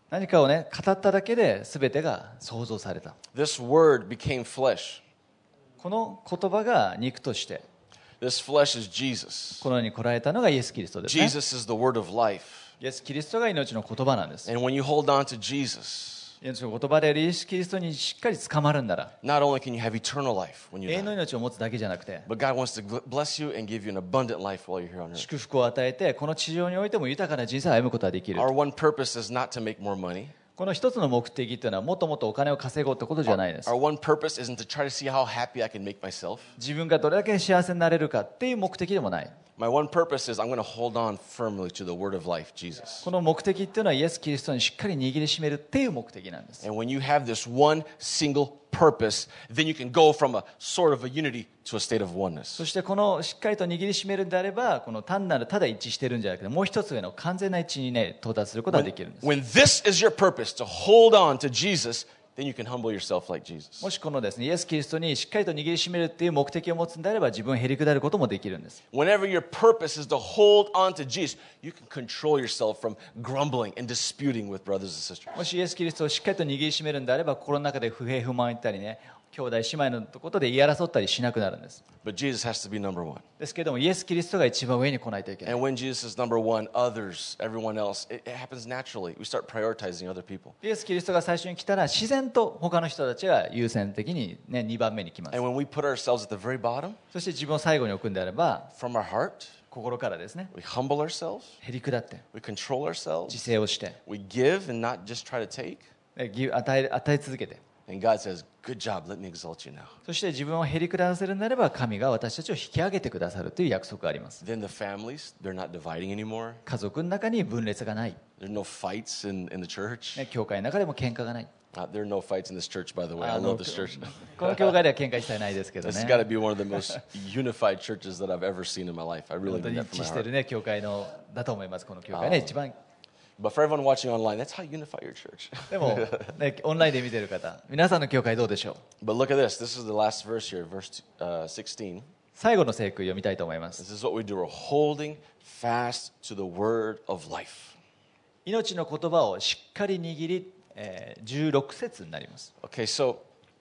何かをね語っただけで全てが創造された。 This word became flesh. この言葉が肉として This flesh is Jesus. この世に来られたのがイエス・キリストですね。 Jesus is the word of life. イエス・キリストが命の言葉なんです。 And when you hold on to Jesus, 命の言葉であるイエス・キリストにしっかり捕まるんなら not only can you have eternal life when 永 you 遠の die, 命を持つだけじゃなくて but God wants to bless you and give you an abundant life while you're here on earth. 祝福を与えてこの地上においても豊かな人生を歩むことができる。 Our one purpose is not to make more money. この一つの目的というのはもっともっとお金を稼ごうってことじゃないです。 Our one purpose isn't to try to see how happy I can make myself. 自分がどれだけ幸せになれるかっていう目的でもない。 My one purpose is I'm going to hold on firmly to the word of life, Jesus. この目的っていうのはイエス・キリストにしっかり握りしめるっていう目的なんです。 And when you have this one single purpose, then you can go from a sort of a unity to a state of そ oneness. してこのしっかりと握りしめるんであればこの単なるただ一致してるんじゃなくてもう一つ上の完全な一致にね到達することができるんです。 When this is your purpose, to hold on to Jesus, then you can humble yourself like Jesus. もしこのですねイエス・キリストにしっかりと握りしめるっていう目的を持つんであれば自分をへり下ることもできるんです。 Whenever your purpose is to hold on to Jesus, you can control yourself from grumbling and disputing with brothers and sisters. もしイエス・キリストをしっかりと握りしめるんであれば心の中で不平不満言ったりね兄弟姉妹のことで言い争ったりしなくなるんです。 But Jesus has to be number one. ですけれどもイエス・キリストが一番上に来ないといけない。 And when Jesus is number one, others, everyone else, it happens naturally. We start prioritizing other people. イエス・キリストが最初に来たら自然と他の人たちが優先的に、ね、2番目に来ます。 And when we put ourselves at the very bottom, そして自分を最後に置くんであれば from our heart, 心からですね we humble ourselves, へり下って we control 自 ourselves, 制をして we give and not just try to take. 与え続けて And God says, good job, let me exalt you now. そして自分をへり下らせるならば神が私たちを引き上げてくださるという約束があります。 Then the families, they're not dividing anymore. 家族の中に分裂がない、 There's no fights in the church. ね、教会の中でも喧嘩がない。 There are no fights in this church, by the way. I love this church. この教会では喧嘩一切ないですけど This has ね got to be one of the most unified churches that I've ever seen in my life. I 本 really 当 mean に that 一 from 致 my してい heart. るね教会のだと思います。この教会ね一番。 But for everyone watching online, that's how you unify your church. でも、ね、オンラインで見てる方皆さんの教会どうでしょう。 But look at this. This is the last verse here, verse 16. 最後の聖句を読みたいと思います。 This is what we do. We're holding fast to the word of life. 命の言葉をしっかり握り、16節になります。 Okay, so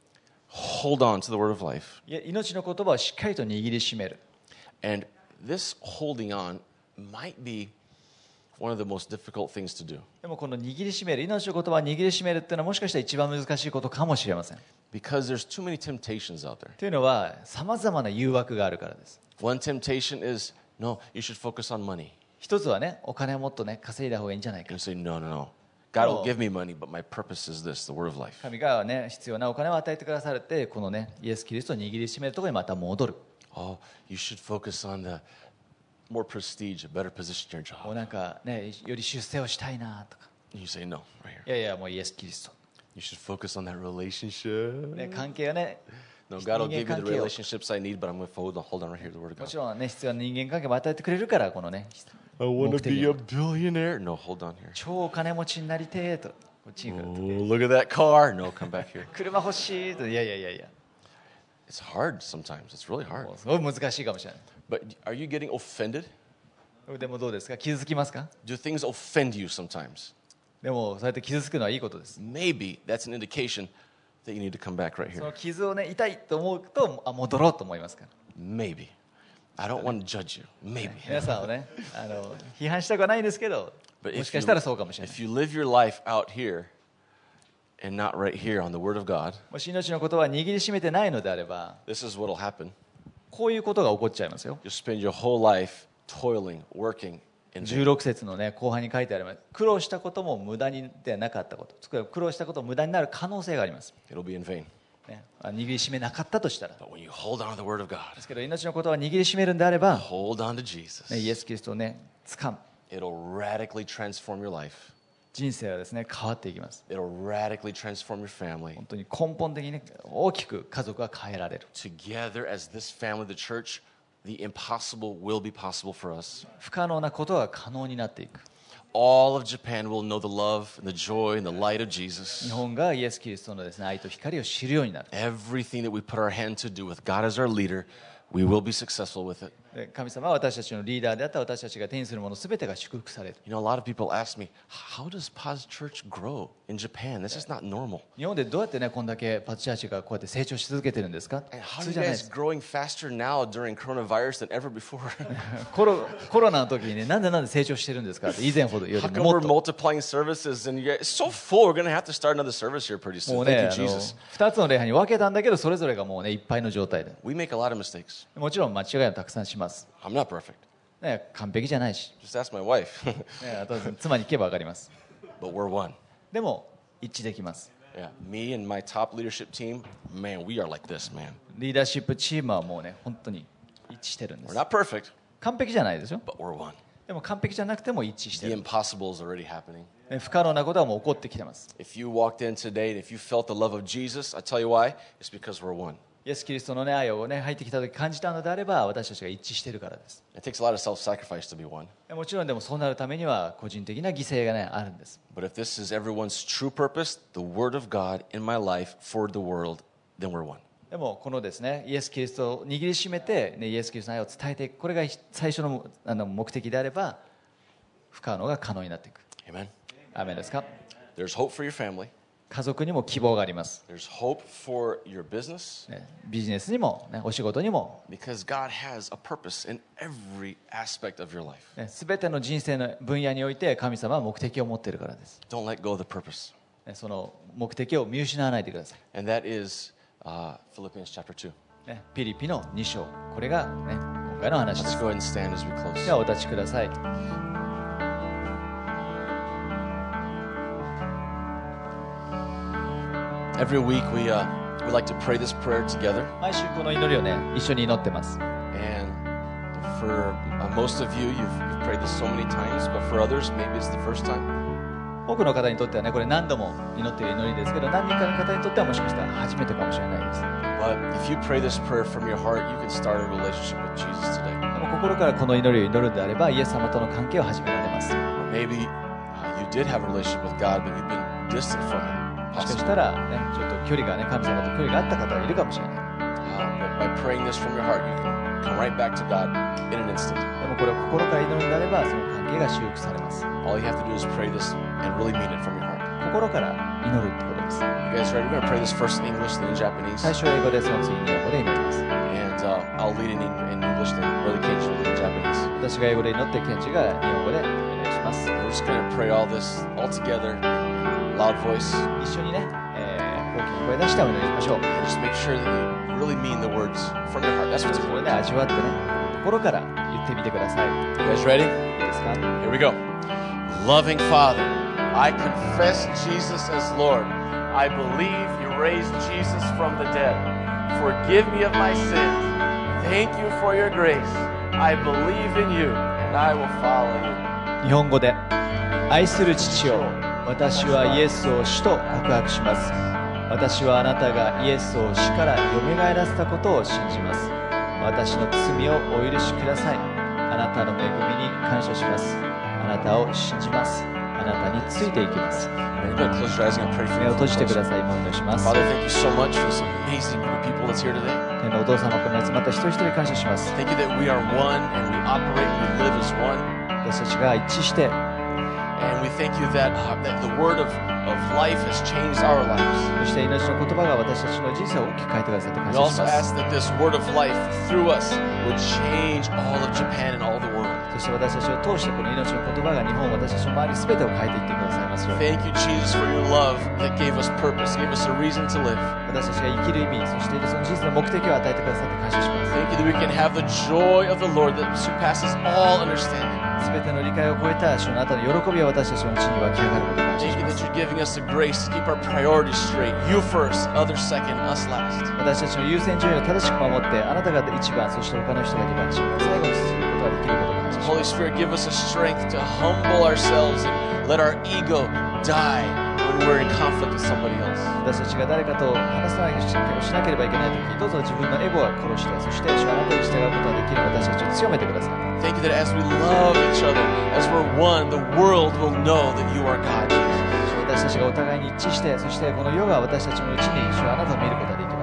hold on to the word of life. いや命の言葉をしっかりと握りしめる。 And this holding on might be one of the most difficult things to do でもこの握りしめる命の言葉を握りしめるっていうのはもしかしたら一番難しいことかもしれません。 because there's too many temptations out there. というのはさまざまな誘惑があるからです。 One temptation is, no, you should focus on money. 一つはねお金をもっとね稼いだ方がいいんじゃないか。 And you say, no, no, no. God will give me money, but my purpose is this, the word of life. 神がね必要なお金を与えてくださるってこのねイエス・キリストを握りしめるところにまた戻る。 Oh, you should focus on the more prestige, a better position in your もう job. なんかねより出世をしたいなとか。 And you say, no, right here. いやいやもうイエス・キリスト。 You should focus on that relationship. ね関係はね No, God will 人 give 間 you 関 the 係を relationships I need, but I'm going to hold on right here to the word of も God. ちろんね必要な人間関係も与えてくれるからこのね I want to be a billionaire. No, hold on here. 超お金持ちになりてーとこっちに来る Oh, look at that car. No, come back here. 車欲しいといやいやいやいや It's hard sometimes. It's really hard. もうすごい難しいかもしれない。 But are you getting offended? でもどうですか傷つきますか。 Do things offend you sometimes? でもそうやって傷つくのはいいことです。 Maybe that's an indication that you need to come back right そ here. の傷をね痛いと思うと戻ろうと思いますから。 Maybe. I don't want to judge you. Maybe. 皆さんをね批判したくはないんですけど But もしかしたらそうかもしれない。 if you live your life out here and not right here on the Word of God, もし命の言葉を握りしめてないのであれば this is what will happen. こういうことが起こっちゃいますよ。 You'll spend your whole life toiling, working in vain. 16節のね後半に書いてあります。苦労したことも無駄にではなかったこと、つまり苦労したことも無駄になる可能性があります。 It'll be in vain. ね、握りしめなかったとしたら。 But when you hold on to the Word of God, ですけど命の言葉を握りしめるんであれば、 hold on to Jesus, ね、イエス・キリストをね掴む it'll radically transform your life. 人生はですね変わっていきます。 It'll radically transform your family. 本当に根本的に、ね、大きく家族が変えられる。 Together as this family, the church, the impossible will be possible for us. 不可能なことが可能になっていく。 All of Japan will know the love and the joy and the light of 日 Jesus. 本がイエス・キリストのですね愛と光を知るようになる。 Everything that we put our hand to do with God as our leader, we will be successful with it. 神様は私たちのリーダーであった私たちが手にするものすべてが祝福される。 You know, a lot of people ask me, how does Paz Church grow in Japan? This is not normal. 日本でどうやってね、こんだけパズチャーチがこうやって成長し続けてるんですか？ And 普 how 通 are じ you ゃないで guys す。 growing faster now during coronavirus than ever before? コロナの時にね、なんで成長してるんですかって以前ほどよ How り come も we're もっと。 multiplying services and you guys, it's so full, we're going to have to start another service here pretty も soon. う Thank ね、 you, Jesus. 2つの礼拝に分けたんだけど、それぞれがもうね、いっぱいの状態で。 We make a lot of mistakes. もちろん間違いもたくさんします。 I'm not perfect. ね、完璧じゃないし、 Just ask my wife. ね、あと妻に聞けば分かります。 But we're one. でも一致できます。 Yeah, me and my top leadership team, man, we are like this, man. リーダーシップチームはもうね、本当に一致してるんで We're す。 not perfect, 完璧じゃないですよ。 but we're one. でも完璧じゃなくても一致して The る。 impossible is already happening. ね、不可能なことはもう起こってきてます。 If you walked in today and if you felt the love of Jesus, I tell you why, it's because we're one. イエス・キリストの、ね、愛を、ね、入ってきた時感じたのであれば、私たちが一致しているからです。 It takes a lot of self-sacrifice to be one. もちろんでもそうなるためには個人的な犠牲が、ね、あるんです。 But if this is everyone's true purpose, the word of God in my life for the world, then we're one. でもこのですね、イエス・キリストを握りしめて、ね、イエス・キリストの愛を伝えていく、これが最初の目的であれば、不可能が可能になっていく。 Amen. アーメンですか？ There's hope for your family. 家族にも希望があります。 There's hope for your business ね、ビジネスにも、ね、お仕事にも、 because God has a purpose in every aspect of your life. ね、全ての人生の分野において神様は目的を持っているからです。 Don't let go of the purpose. ね、その目的を見失わないでください。 And that is Philippians chapter 2. ね、ピリピの2章、これが、ね、今回の話で Let's す。 go ahead and stand as we close. ではお立ちください。 Every week we like to pray this prayer together. 毎週この祈りをね、一緒に祈ってます。 And for most of you, you've prayed this so many times, but for others, maybe it's the first time. 多くの方にとってはね、これ何度も祈っている祈りですけど、何人かの方にとってはもしかしたら初めてかもしれないです。 But if you pray this prayer from your heart, you can start a relationship with Jesus today. でも心からこの祈りを祈るのであれば、イエス様との関係を始められます。 Or maybe you did have a relationship with God, but you've been distant from Him. もしかしたら、ね、ちょっと距離がね、神様と距離があった方がいるかもしれない。 But by praying this from your heart, you can come right back to God in an instant. でもこれを心から祈るのであれば、その関係が修復されます。 All you have to do is pray this and really mean it from your heart. 心から祈るってことです。 You guys ready? We're going to pray this first in English, then in Japanese. 最初は英語で、その次に日本語で祈ります。 And I'll lead in English, then Brother Cage will lead in Japanese. 私が英語で祈って、ケンジが日本語でお願いします。 We're just going to pray all this all together in loud voice. 一緒にね、大きな声出してお祈りしましょう。 And just make sure that you really mean the words from your heart. That's what's それ important. で味わってね、心から言ってみてください。い You guys ready? いですか？ Here we go. Loving Father, I confess Jesus as Lord. I believe you raised Jesus from the dead. Forgive me of my sins. Thank you for your grace. I believe in you and I will follow you. 日本語で、愛する父よ、私はイエスを主と告白します。私はあなたがイエスを死からよみがえらせたことを信じます。私の罪をお許しください。あなたの恵みに感謝します。あなたを信じます。あなたについていきます。 You're going to close your eyes and I'm going to pray for 目 you. を閉じてください。もうお祈りします。 Father, thank you so much for this amazing group of people that's here today. 天のお父様、ここに集まった一人一人感謝します。 Thank you that we are one and we operate and we live as one. 私たちが一致して、 And we thank you that the word of life has changed our lives. そして命の言葉が私たちの人生を大きく変えてくださって感 We 謝し also ます。 ask that this word of life through us would change all of Japan and all the world. そして私たちを通してこの命の言葉が日本、私たちの周り全てを変えていってくださいますように。 Thank you, Jesus, for your love that gave us purpose, gave us a reason to live. 私たちが生きる意味、そしてその人生の目的を与えてくださって感謝します。 Thank you that we can have the joy of the Lord that surpasses all understanding. 全ての理解を超えた主のあなたの喜びは私たちのうちに湧き上がることを感謝 Thank し you ま that す。 you're giving us the grace to keep our priorities straight. You first, others second, us last. 私たちの優先順位を正しく守って、あなたが一番、そして他の人が二番、自分が最後にすることができることを感謝し Holy ます。 Spirit, give us a strength to humble ourselves and let our ego die when we're in conflict with somebody else. 私たちが誰かと話さないようにしなければいけないとき、どうぞ自分のエゴは殺して、そして主はあなたに従うことができる私たちを強めてください。 Thank you that as we love each other, as we're one, the world will know that you are God, Jesus. 私たちがお互いに一致して、そしてこの世が私たちのうちに主はあなたを見ることができます。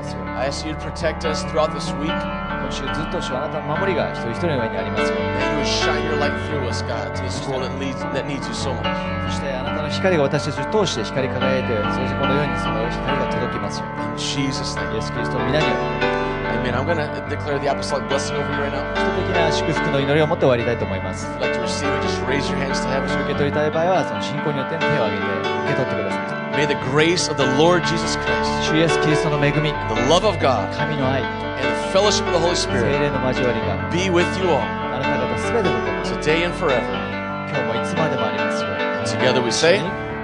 ますように。 I ask you to protect us throughout this week. 今週ずっと主はあなたの守りが一人一人の上にありますように。 That you would shine your light through us, God, to this world that needs you so much. そしてあなたの光が私たちを通して光り輝いて、そしてこのようにその光が届きますよう In Jesus' name. に。イエス・キリストの皆によって Amen. I'm going to declare the apostolic blessing over you right now. 基礎的な祝福の祈りを持って終わりたいと思います。 If you'd like to receive it, just raise your hands to heaven. 受け取りたい場合はその信仰によって手を挙げて受け取ってください。 May the grace of the Lord Jesus Christ, 主イエス・キリストの恵み、 the love of God, 神の愛、 and the fellowship of the Holy 聖 Spirit 霊の交わりが be with you all あなた方すべてと共に today and forever. 今日もいつまでもありますように。 Together we say,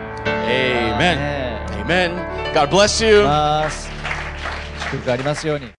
アー Amen. メン Amen. God bless you. ます。祝福がありますように。